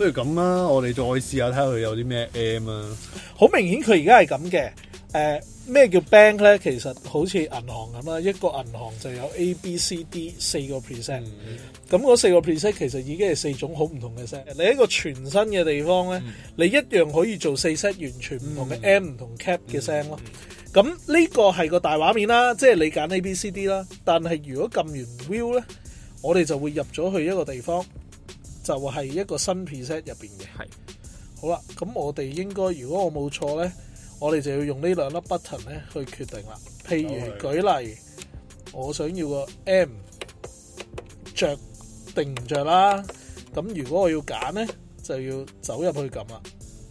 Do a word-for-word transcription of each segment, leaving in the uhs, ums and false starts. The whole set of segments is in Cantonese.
不如咁啦，我哋再試下睇下佢有啲咩 M 啊。 好明顯佢而家係咁嘅。誒咩叫 bank 咧？其實好似銀行咁啦，一個銀行就有 A、B、C、D 四個 percent。咁嗰四個 percent 其實已經係四種好唔同嘅聲。你一個全新嘅地方咧，嗯、你一樣可以做四 set 完全唔同嘅 M 唔、嗯、同 cap 嘅聲咯。咁呢、嗯、個係個大畫面啦，即係你揀 A、B、C、D 啦。但係如果撳完 view 咧，我哋就會入咗去一個地方，就係一個新 preset 入邊嘅。係。好啦，咁我哋應該如果我冇錯咧。我哋就要用呢兩粒 button 咧去決定啦。譬如舉例，我想要個 M 着定唔着啦。咁如果我要揀咧，就要走入去撳啦。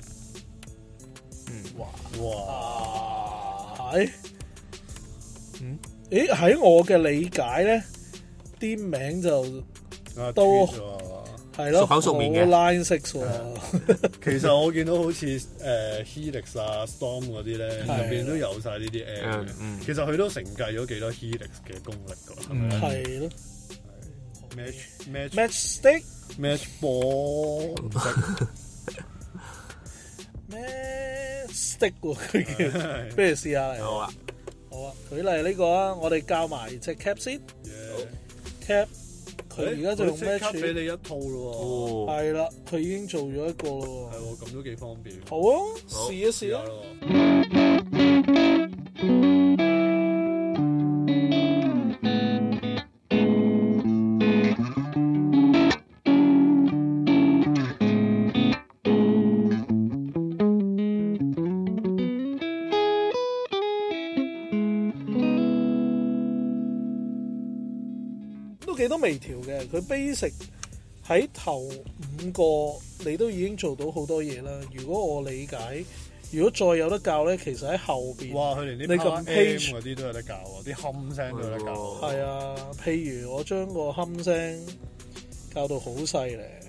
嗯，哇哇，係，嗯，誒喺我嘅理解咧，啲名就都。係咯，熟口熟面嘅 line six 喎。 其實我見到好似誒、呃、Helix 啊、Storm 嗰啲咧，入邊都有晒呢啲 M 嘅。嗯、其實佢都承繼咗幾多 Helix 嘅功力㗎，係咪？係咯。Match match match stick match ball match stick 喎，佢叫。不如試下嚟。好啊，好啊。舉例呢個啊，我哋教埋隻 cap 先。cap。佢而家就用咩處俾你一套咯喎，係啦，佢已經做咗一個咯喎，係喎，咁都幾方便。好啊，試一試啊！幾多微調嘅，佢 basic 喺頭五個你都已經做到好多嘢啦。如果我理解，如果再有得教咧，其實喺後邊，哇，佢連啲 power M 嗰啲都有得教喎，啲冚聲都有得教。係啊，譬如我將個冚聲教到好細咧，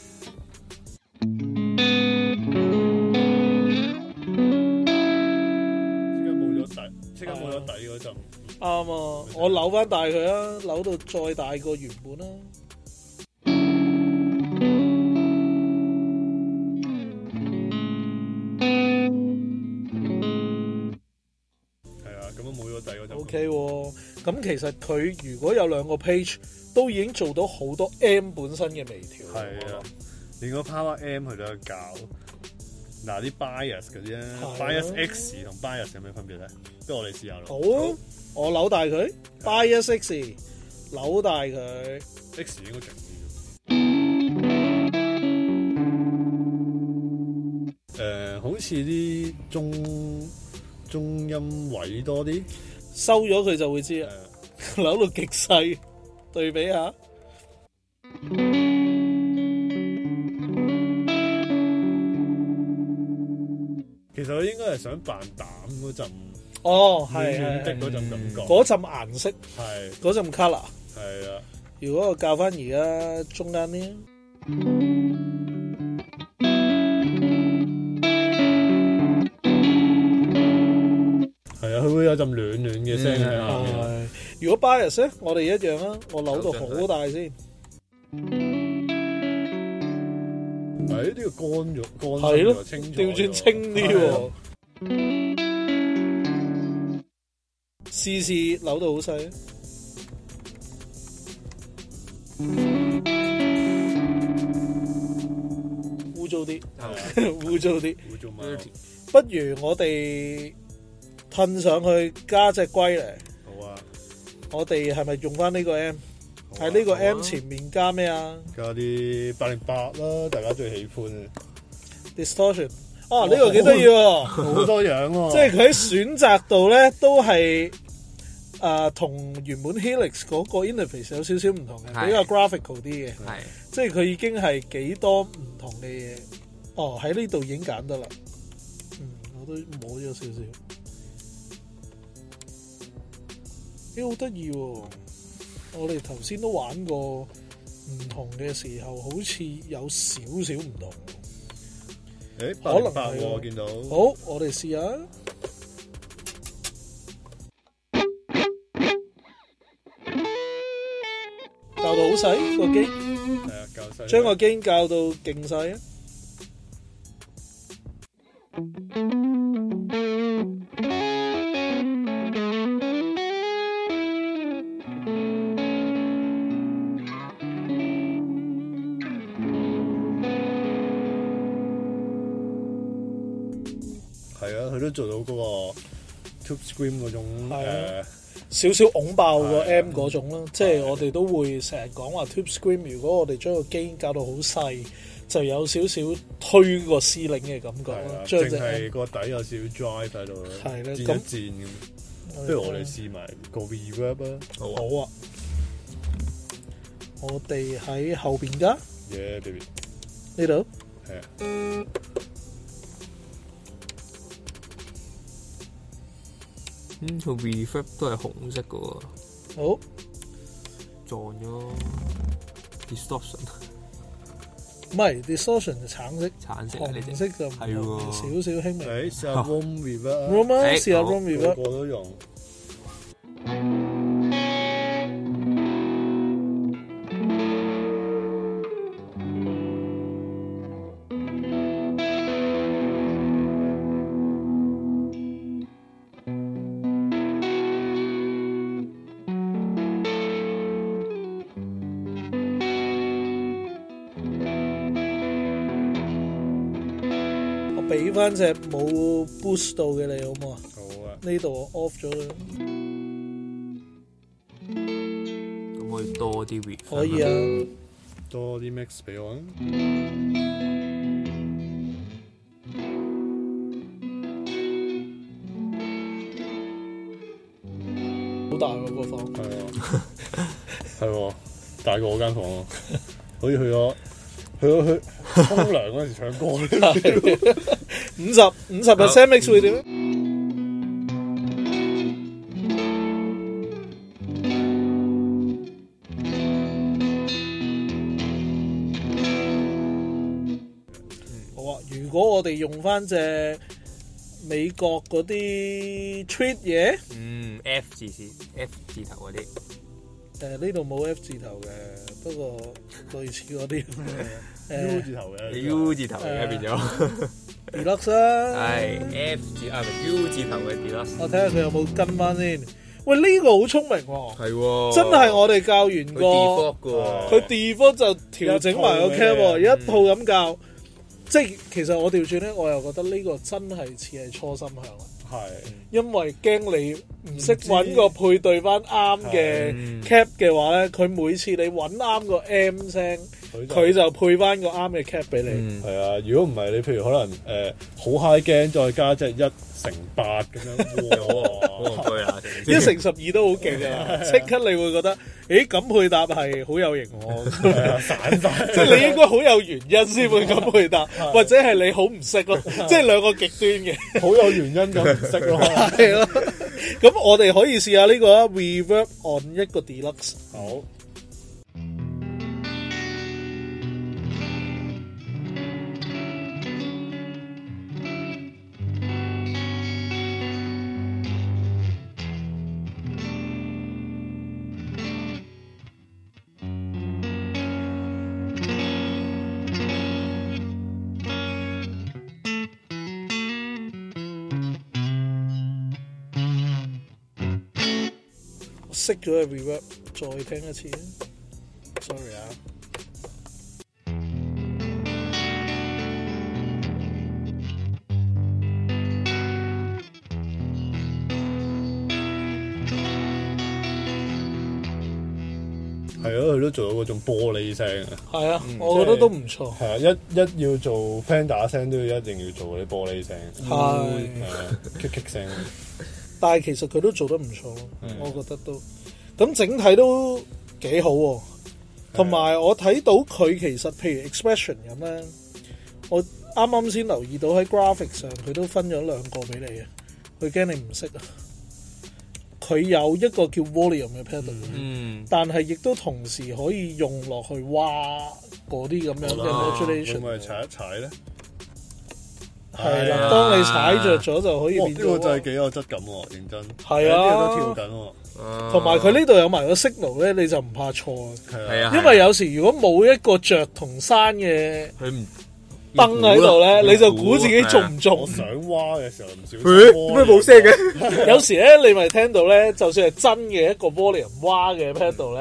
即刻冇咗底，即刻冇咗底嗰陣。啱啊！我扭翻大佢啊，扭到再大過原本啦。係啊，咁都冇咗底嗰陣。O K，咁其實佢如果有兩個 page，都已經做到好多 M 本身嘅微調。係啊，連個 Power M 佢都有教。嗱啲 bias 嗰啲咧 ，bias X 同 bias 有咩分別咧？不如我哋試下咯。好。好我扭大佢 bias X 扭大佢 X 應該勁啲嘅。誒，好似啲中中音位多啲，收咗佢就會知啦。扭到極細，對比下。其實我應該係想扮膽嗰陣。哦，係係的嗰陣感覺，嗰陣顏色，係嗰陣 colour，係啊。如果我教翻而家中間啲，係啊，佢會有陣暖暖嘅聲喺下面。如果 bias 咧，我哋一樣啊，我扭到好大先。係呢個乾咗，乾咗清咗，調轉清啲喎。試試扭到好細，污糟啲，污糟啲，不如我哋褪上去加隻龜嚟。好啊，我哋係咪用翻呢個 M？喺呢個 M 前面加咩啊？加啲八零八啦，大家最喜歡嘅 distortion。啊，呢個幾得意喎，好多樣喎。即係佢喺選擇度咧，都係。誒同、呃、原本 Helix 嗰個 interface 有少少唔同嘅，是比較 graphical 啲嘅，係是即係佢已經係幾多唔同嘅嘢。哦，喺呢度已經揀得啦。嗯，我都摸咗少少。咦，好得意喎！我哋頭先都玩過唔同嘅時候，好似有少少唔同。誒、欸，可能係喎，我見到。好，我哋試下。校到好細個機，係啊，校細，將個機校到勁細啊！ 佢都做到嗰個 tube scream 嗰種誒少少拱爆個 M 嗰種啦。即係我哋都會成日講話 tube scream，如果我哋將個機搞到好細，就有少少推個司令嘅感覺咯。 淨係個底有少少 drive 喺度， 係咧， 戰一戰咁。不如我哋試埋個 reverb 啊！ 好啊，我哋喺後邊㗎。 Yeah baby， 呢度係啊。 嗯，個 reverb 都係紅色㗎喎。 好， 撞咗 distortion。 唔係 distortion 就橙色， 橙色紅色就係喎，少少輕微。 誒，試下 room reverb。 room 啊，試下 room reverb。 個個都用。 俾翻隻冇 boost 到嘅你好唔好啊？ 好啊！ 呢度我 off 咗啦。 咁可以多啲 reverb。 可以啊， 多啲 mix 俾我啊！ 好大喎個房。 係啊，係喎，大過我間房啊！好似去咗去咗去沖涼嗰陣時唱歌。 五十五十 percent mix 會點？好啊！如果我哋用翻隻美國嗰啲 treat 嘢， 嗯 F 字先 F 字頭嗰啲。 誒呢度冇 F 字頭嘅，不過類似嗰啲 U 字頭嘅 U 字頭嘅變咗 Deluxe 啦， 係 F 字啊，唔係 U 字頭嘅 Deluxe。 我睇下佢有冇跟翻先。喂，呢個好聰明喎， 係喎， 真係我哋教完個佢 default 就調整埋個 cap，一套咁教。即係其實我調轉咧，我又覺得呢個真係似係初心向。 係， 因為驚你唔識揾個配對翻啱嘅 cap 嘅話咧，佢每次你揾啱個 M 聲，佢就配翻個啱嘅 cap 俾你。 係啊，如果唔係你，譬如可能誒好 high gain，再加即係一乘八咁樣，哇！ 一乘十二都好勁啊！即刻你會覺得，誒咁配搭係好有型喎， 散晒， 即係你應該好有原因先會咁配搭，或者係你好唔識咯，即係兩個極端嘅， 好有原因咁唔識咯， 係咯。咁我哋可以試下呢個啊 ，reverb on 一個 deluxe。 好。 熄咗個 reverb，再聽一次。Sorry 啊。 係咯，佢都做到嗰種玻璃聲啊。 係啊，我覺得都唔錯。 係啊，一一要做 Fender 聲都要一定要做嗰啲玻璃聲。 係。 係啊，棘棘聲。 但係其實佢都做得唔錯，我覺得都咁整體都幾好喎。同埋我睇到佢其實譬如 expression 咁咧，我啱啱先留意到喺 graphic 上佢都分咗兩個俾你啊。佢驚你唔識啊。佢有一個叫 volume 嘅 pedal，嗯，但係亦都同時可以用落去挖嗰啲咁樣嘅 modulation。 會唔會踩一踩咧？ 係啦，當你踩着咗就可以變咗。 呢個真係幾有質感喎，認真。 係啊， 呢個都跳緊喎。 同埋佢呢度有埋個 signal 咧，你就唔怕錯啊。 係啊， 因為有時如果冇一個着同山嘅佢唔燈喺度咧，你就估自己中唔中。 我想挖嘅時候唔小心。 咩冇聲嘅？ 有時咧，你咪聽到咧，就算係真嘅一個 volume 挖嘅 pedal 咧，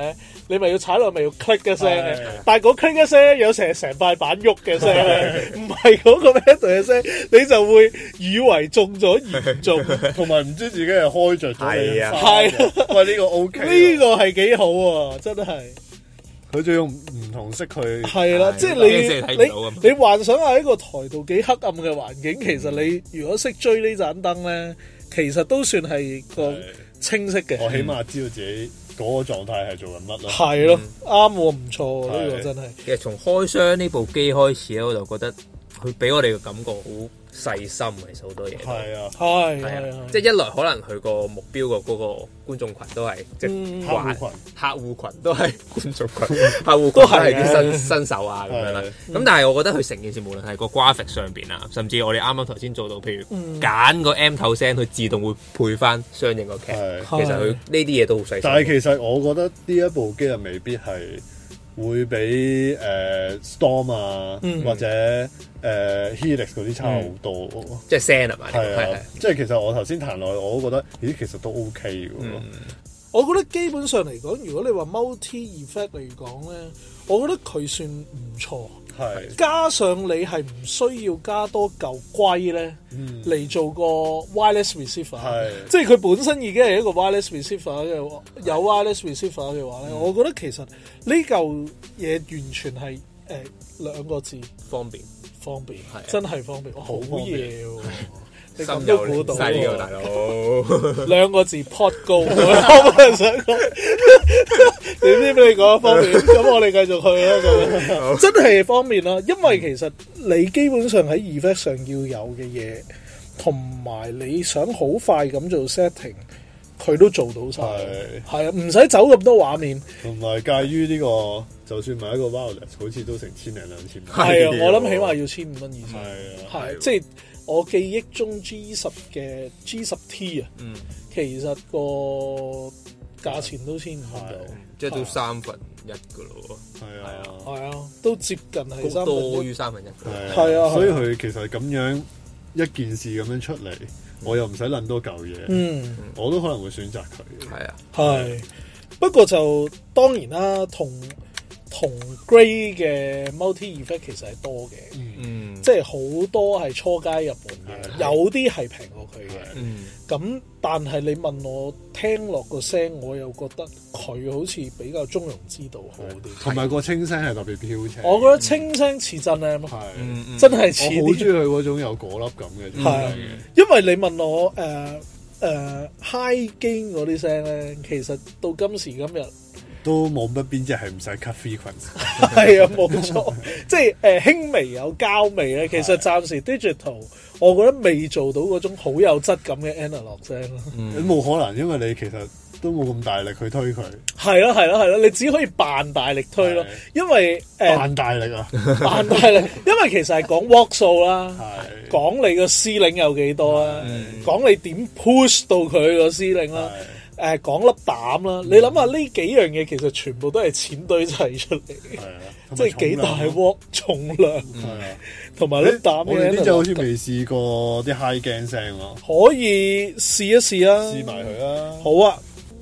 你咪要踩落咪要 click 一聲嘅，但係嗰 click 一聲有成成塊板喐嘅聲，唔係嗰個 pedal 嘅聲，你就會以為中咗嚴重， 同埋唔知自己係開着咗。 係啊， 係， 喂呢個 OK， 呢個係幾好喎，真係。 佢仲用唔同色去， 係啦，即係你你你幻想下一個台度幾黑暗嘅環境，其實你如果識追呢盞燈咧，其實都算係個清晰嘅。 我起碼知道自己嗰個狀態係做緊乜咯。 係咯，啱喎，唔錯呢個真係。 其實從開箱呢部機開始咧，我就覺得佢俾我哋嘅感覺好細心，其實好多嘢。 係啊， 係係啊， 即係一來可能佢個目標個嗰個觀眾群都係即係客戶群， 客戶群都係觀眾群，客戶群都係啲新新手啊咁樣啦。咁但係我覺得佢成件事無論係個 graphic 上邊啊，甚至我哋啱啱頭先做到，譬如揀個 M 頭聲，佢自動會配翻相應個劇。其實佢呢啲嘢都好細心。 但係其實我覺得呢一部機啊，未必係會比誒 Storm 啊或者誒 Helix 嗰啲差好多， 即係聲係嘛？ 係啊，即係其實我頭先彈落去，我都覺得咦，其實都 OK 嘅喎。 我覺得基本上嚟講，如果你話 multi effect 嚟講咧，我覺得佢算唔錯。係加上你係唔需要加多嚿龜咧嚟做個 wireless receiver，即係佢本身已經係一個 wireless receiver 嘅，有 wireless receiver 嘅話咧，我覺得其實呢嚿嘢完全係誒兩個字方便。 方便，真係方便，好嘢喎！你咁都估到喎，大佬。 兩個字 pot 高，我冇想講。點知俾你講方便？咁我哋繼續去啦。咁真係方便啦，因為其實你基本上喺 effect 上要有嘅嘢，同埋你想好快咁做 setting，佢都做到晒。係啊，唔使走咁多畫面。同埋介於呢個。就算買一個 wireless，好似都成千零兩千蚊。 係啊，我諗起碼要千五蚊以上。 係啊， 係即係我記憶中 G 十嘅 G 十 T 啊，嗯，其實個價錢都千五蚊到， 即係都三分一噶咯。 係啊， 係啊，都接近係三多於三分一。 係啊， 所以佢其實咁樣一件事咁樣出嚟，我又唔使諗多嚿嘢。嗯，我都可能會選擇佢。 係啊， 係。不過就當然啦，同同 Grey 嘅 multi effect 其實係多嘅，嗯，即係好多係初階入門嘅，有啲係平過佢嘅，嗯，咁但係你問我聽落個聲，我又覺得佢好似比較中庸之道好啲， 同埋個清聲係特別飄清。 我覺得清聲似真 M，係，真係似。 我好中意佢嗰種有果粒感嘅， 係，因為你問我誒誒 high gain 嗰啲聲咧，其實到今時今日。 都冇乜邊隻係唔使 cut frequency， 係啊，冇錯，即係誒輕微有膠味咧。其實暫時 digital，我覺得未做到嗰種好有質感嘅 analog 聲咯。 你冇可能，因為你其實都冇咁大力去推佢。 係咯係咯係咯，你只可以扮大力推咯，因為誒扮大力啊， 扮大力，因為其實係講 watt 數啦，講你個 ceiling 有幾多啦，講你點 push 到佢個 ceiling 啦。誒講粒膽啦，你諗下呢幾樣嘢其實全部都係錢堆砌出嚟嘅，即係幾大鑊重量，同埋粒膽。 我哋呢隻好似未試過啲 high gain 聲咯， 可以試一試啊！ 試埋佢啊！ 好啊！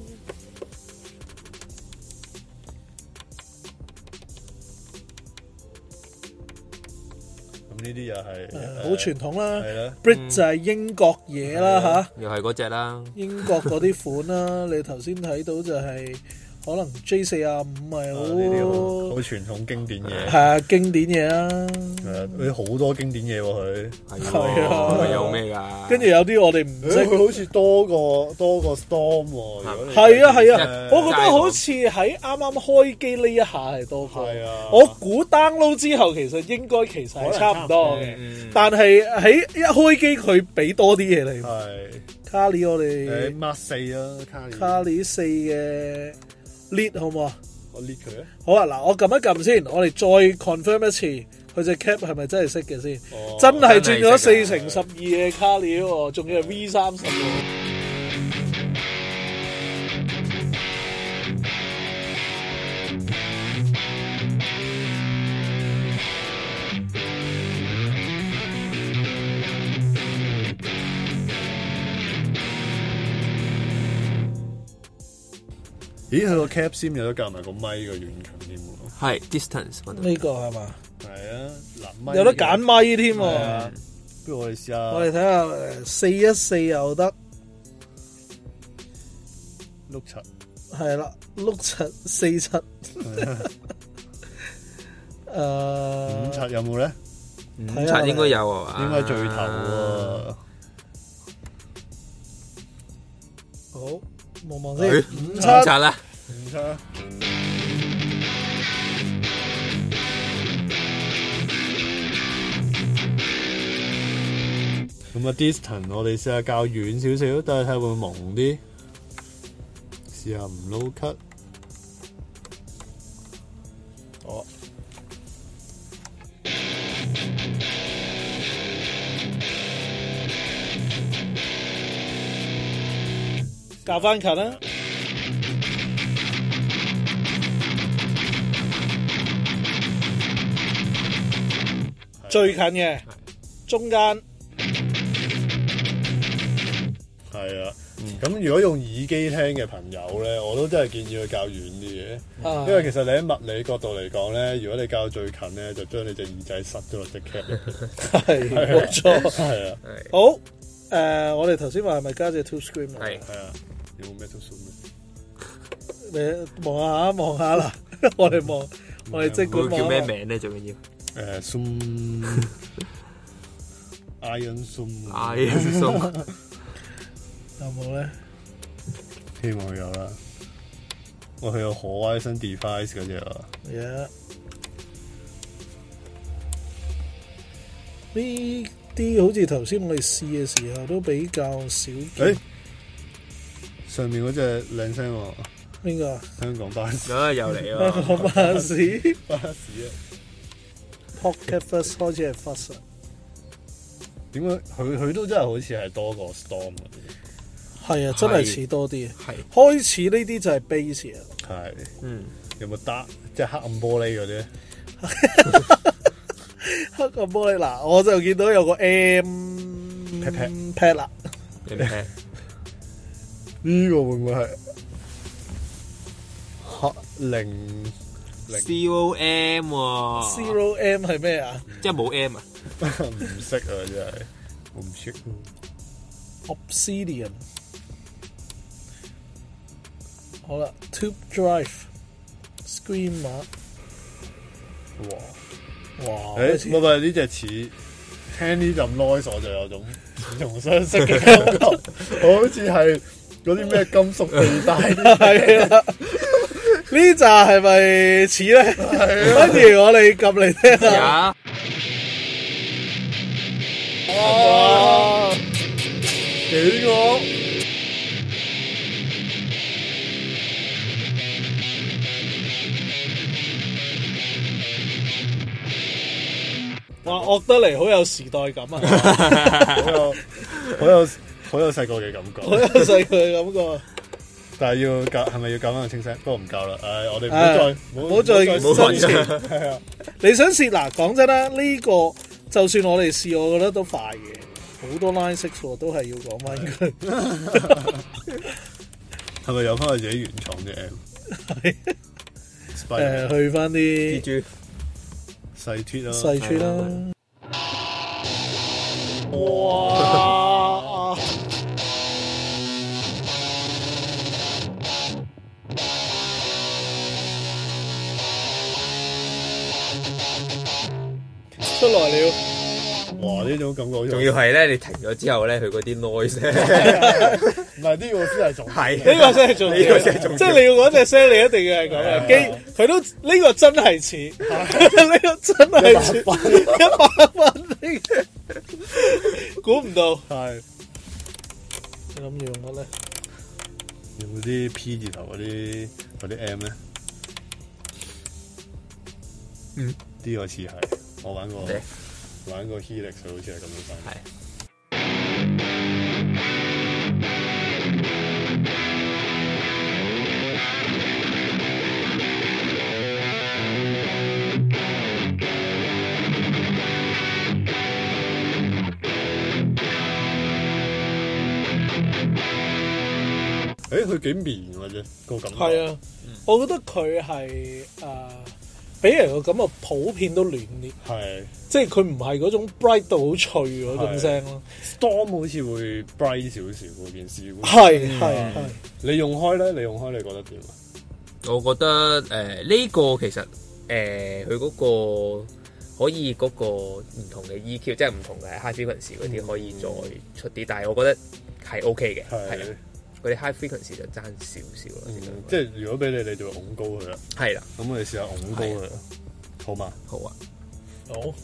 呢啲又係好傳統啦，Brit 就係英國嘢啦嚇， 又係嗰隻啦， 英國嗰啲款啦，你頭先睇到就係可能 J 四十五係好好傳統經典嘢， 係啊經典嘢啊， 係啊佢好多經典嘢喎佢， 係啊有咩㗎？ 跟住有啲我哋唔識， 佢好似多個多個 Storm 喎， 係啊係啊，我覺得好似喺啱啱開機呢一下係多個，係啊，我估 download 之後其實應該其實係差唔多嘅，但係喺一開機佢俾多啲嘢你，係卡里我哋 Mark 四啊，卡里卡里四嘅。lead 好唔好啊？ 我 lead 佢啊！ 好啊，嗱，我撳一撳先，我哋再 confirm 一次，佢隻 cap 係咪真係識嘅先？哦、真係轉咗四乘十二嘅卡里喎，仲要係 V 三十喎。 咦，佢個 cap sim 有得夾埋個咪個遠近添喎。 係 distance 呢個係嘛？ 係啊，嗱， 有得揀咪添喎。 不如我哋試下。 我哋睇下誒四一四又得， 碌七。 係啦，碌七四七。誒五七有冇咧？ 五七應該有啊， 應該最頭喎。 好，望望先。五七啦， 五七。咁啊 distance 我哋試下較遠少少，等下睇下會唔會朦啲。試下唔撈 cut。 哦。較翻近啦。最近嘅，中間。 係啊，咁、嗯、如果用耳機聽嘅朋友咧，我都真係建議佢較遠啲嘅，啊、因為其實你喺物理角度嚟講咧，如果你較最近咧，就將你隻耳仔塞咗落隻 cap 入邊。 係冇錯， 係啊。 好，誒、呃，我哋頭先話係咪加隻 two screen 啊？ 係係啊，有冇 metal screen？ 你望下望下啦，我哋望，我哋即管望。 叫咩名咧？最緊要誒 zoom iron zoom iron zoom。 有冇咧？ 希望有啦。我佢有 Horizon Device 嗰隻啊。 Yeah。呢啲好似頭先我哋試嘅時候都比較少見。誒， 上面嗰隻靚聲喎。 邊個？ 香港巴士。 啊，又嚟啊！ 香港巴士。 巴士啊。 Pocket First 開始係 First。 點解佢佢都真係好似係多過 Storm 嗰啲？ 係啊，真係似多啲。 係開始呢啲就係 base 啊。 係， 嗯， 有冇得即係黑暗玻璃嗰啲？ 黑暗玻璃嗱，我就見到有個 M pad pad 啦。 呢個會唔會係黑零零 Zero M 喎 ？Zero M 係咩啊？ 即係冇 M 啊？ 唔識啊，真係我唔識。 Obsidian。好啦 ，Tube Drive，Screen 碼， 哇哇！誒，唔係唔係呢隻似聽呢陣 noise 我就有種似曾相識嘅感覺，好似係嗰啲咩金屬地帶。 係啊，呢扎係咪似咧？不如我哋撳嚟聽下。哇！幾個？哇！惡得嚟好有時代感啊！ 好有好有好有細個嘅感覺， 好有細個嘅感覺。 但係要教係咪要教翻個清聲？不過唔教啦。唉，我哋唔好再唔好再新詞。係啊，你想試嗱？講真啦，呢個就算我哋試，我覺得都快嘅。好多 line six 都係要講翻佢。 係咪有翻佢自己原創嘅 M？ 係誒，去翻啲。 細脫啦， 細脫啦！哇！出來了！ 哇！呢種感覺， 仲要係咧，你停咗之後咧，佢嗰啲 noise， 唔係呢個先係重， 係呢個先係重，呢個先係重，即係你要嗰隻聲，你一定要係咁嘅。機佢都呢個真係似，呢個真係似一百分呢個，估唔到。係你諗住用乜咧？ 有冇啲 P 字頭嗰啲嗰啲 M 咧？ 嗯， 呢個似係我玩過。玩個 Helix 佢好似係咁樣翻。係。誒，佢佢幾綿嘅啫個感覺。 係啊，嗯、我覺得佢係誒俾人個感覺普遍都暖啲，係即係佢唔係嗰種 bright 到好脆嗰種聲咯。 Storm 好似會 bright 少少嗰件事， 係係係。 你用開咧？你用開你覺得點啊？ 我覺得誒呢、呃這個其實誒佢嗰個可以嗰個唔同嘅 E Q，即係唔同嘅 high frequency 嗰啲可以再出啲，嗯、但係我覺得係 OK 嘅，係啊，嗰啲 high frequency 就爭少少啦。 嗯、即係如果俾你，你就會拱高佢啦。係啦，咁我哋試下拱高佢，好嘛？ 好啊， 好。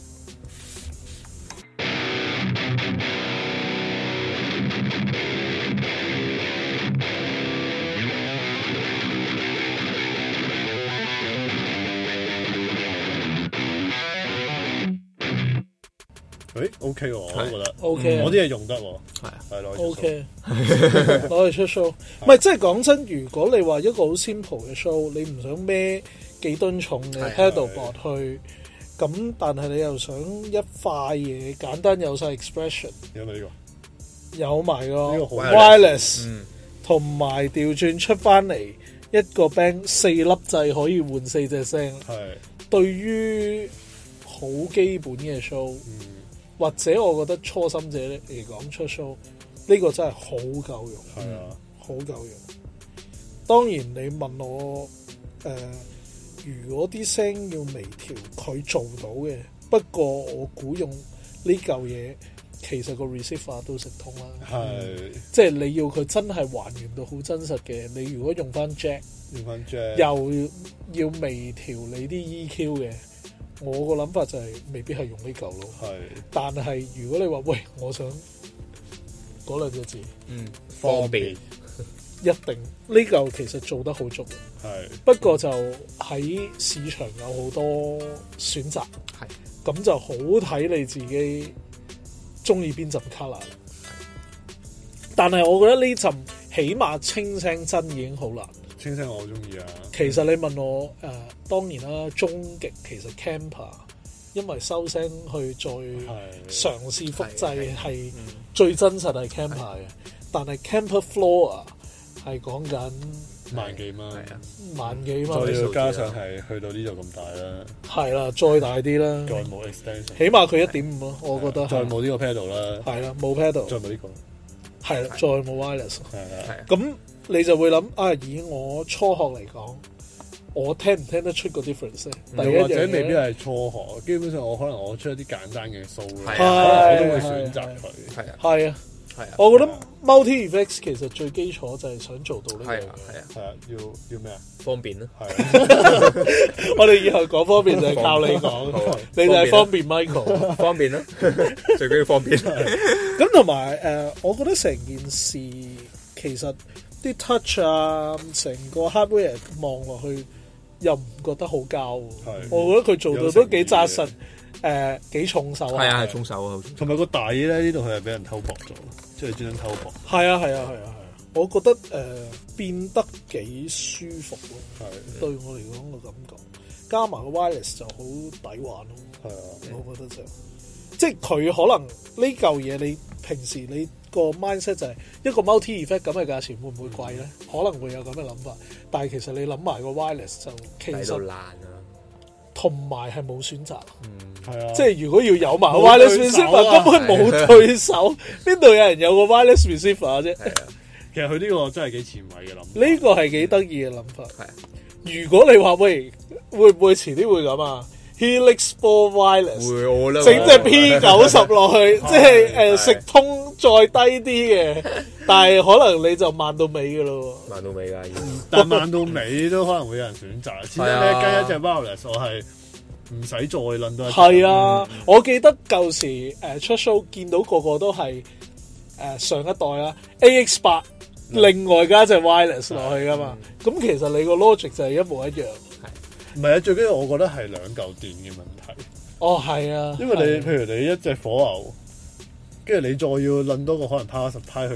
誒 OK 喎，我都覺得 OK， 我啲嘢用得喎， 係啊， 係攞 OK，攞嚟出 show。唔係，即係講真，如果你話一個好 simple 嘅 show，你唔想孭幾噸重嘅 pedalboard 去，咁但係你又想一塊嘢簡單有晒 expression， 有冇呢個？ 有埋個 wireless，同埋調轉出翻嚟一個 band 四粒掣可以換四隻聲，係對於好基本嘅 show。或者我覺得初心者嚟講出 show 呢個真係好夠用，係啊，好夠用。當然你問我誒、呃，如果啲聲要微調，佢做到嘅。不過我估用呢嚿嘢，其實個 receiver 都食通啦。係，即係你要佢真係還原到好真實嘅。你如果用翻 jack， 用翻 jack， 又要微調你啲 E Q 嘅。我個諗法就係未必係用呢嚿咯，係。但係如果你話喂，我想嗰兩隻字，嗯， 方便， 一定呢嚿其實做得好足，係。不過就喺市場有好多選擇，係。咁就好睇你自己中意邊陣 colour。但係我覺得呢陣起碼清聲真已經好難。 清聲我好中意啊！ 其實你問我誒、呃，當然啦，終極其實 Camper， 因為收聲去再嘗試複製係最真實係 Camper 嘅，但係 Camper Floor 係講緊萬幾蚊，係啊， 萬幾蚊， 再要加上係去到呢度咁大啦， 係啦，再大啲啦， 再冇 extension， 起碼佢一點五咯，我覺得再冇呢個 pedal 啦， 係啦，冇 pedal， 再冇呢個， 係啦，再冇 wireless，係啊， 咁。你就會諗啊，以我初學嚟講，我聽唔聽得出個 difference 咧？ 又或者未必係初學，基本上我可能我出一啲簡單嘅 show 咧，我都會選擇佢。係啊， 係啊，係啊。我覺得 multi effects 其實最基礎就係想做到呢樣嘢。係啊， 係啊，要要咩啊？ 方便咯。係啊。我哋以後講方便就係靠你講，你就係方便 Michael。 方便咯，最緊要方便。 咁同埋誒，我覺得成件事其實。啲 touch 啊，成個 hardware 望落去又唔覺得好膠，我覺得佢做到都幾紮實，誒幾重手啊！ 係啊，係重手啊！同埋個底咧，呢度佢係俾人偷薄咗，即係專登偷薄。 係啊，係啊，係啊，係啊！我覺得誒變得幾舒服咯，係對我嚟講個感覺，加埋個 wireless 就好抵玩咯。係啊，我覺得就即係佢可能呢嚿嘢，你平時你。個 mindset 就係一個 multi effect 咁嘅價錢會唔會貴咧？嗯、可能會有咁嘅諗法，但係其實你諗埋個 wireless 就其實難啊，同埋係冇選擇，嗯，係啊，即係如果要有埋 wireless receiver，根本冇對手，邊度有人有個 wireless receiver 啫？ 係啊，其實佢呢個真係幾前衛嘅諗法， 呢個係幾得意嘅諗法。係啊，如果你話喂，會唔會遲啲會咁啊？Helix Four Wireless 整隻 P 九十落去，即係誒食通再低啲嘅，但係可能你就慢到尾噶咯， 慢到尾噶， 但係慢到尾都可能會有人選擇。始終你跟一隻 Wireless，我係唔使再諗多。 係啊，我記得舊時誒出 show 見到個個都係誒上一代啦 A X 八，另外加隻 Wireless 落去噶嘛。咁其實你個 logic 就係一模一樣。 唔係啊，最緊要我覺得係兩嚿電嘅問題。 哦，係啊， 因為你譬如你一隻火牛，跟住你再要撚多個可能 power supply 去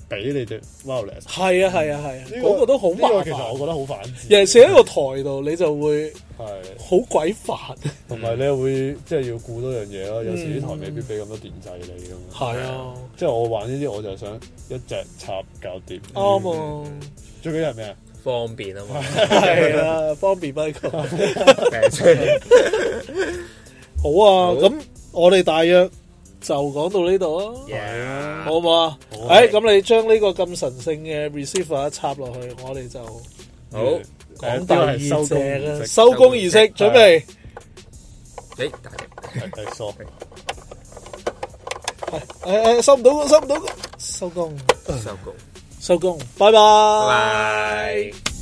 俾你隻 wireless。 係啊係啊係啊，嗰個都好麻煩。 其實我覺得好反智。 尤其是喺個台度，你就會係好鬼煩。 同埋你又會即係要顧多樣嘢咯。有時啲台未必俾咁多電掣你咁。係啊，即係我玩呢啲，我就想一隻插搞掂。 啱啊！ 最緊要係咩啊？ 方便啊嘛。 係啊，方便 Michael。好啊，咁我哋大約就講到呢度啊，好唔好啊？誒，咁你將呢個咁神聖嘅 receiver 插落去，我哋就好講第二隻啦，收工儀式準備。 誒，大力， 係疏， 係誒誒，收唔到，收唔到，收工， 收工， 收工，拜拜。 拜拜。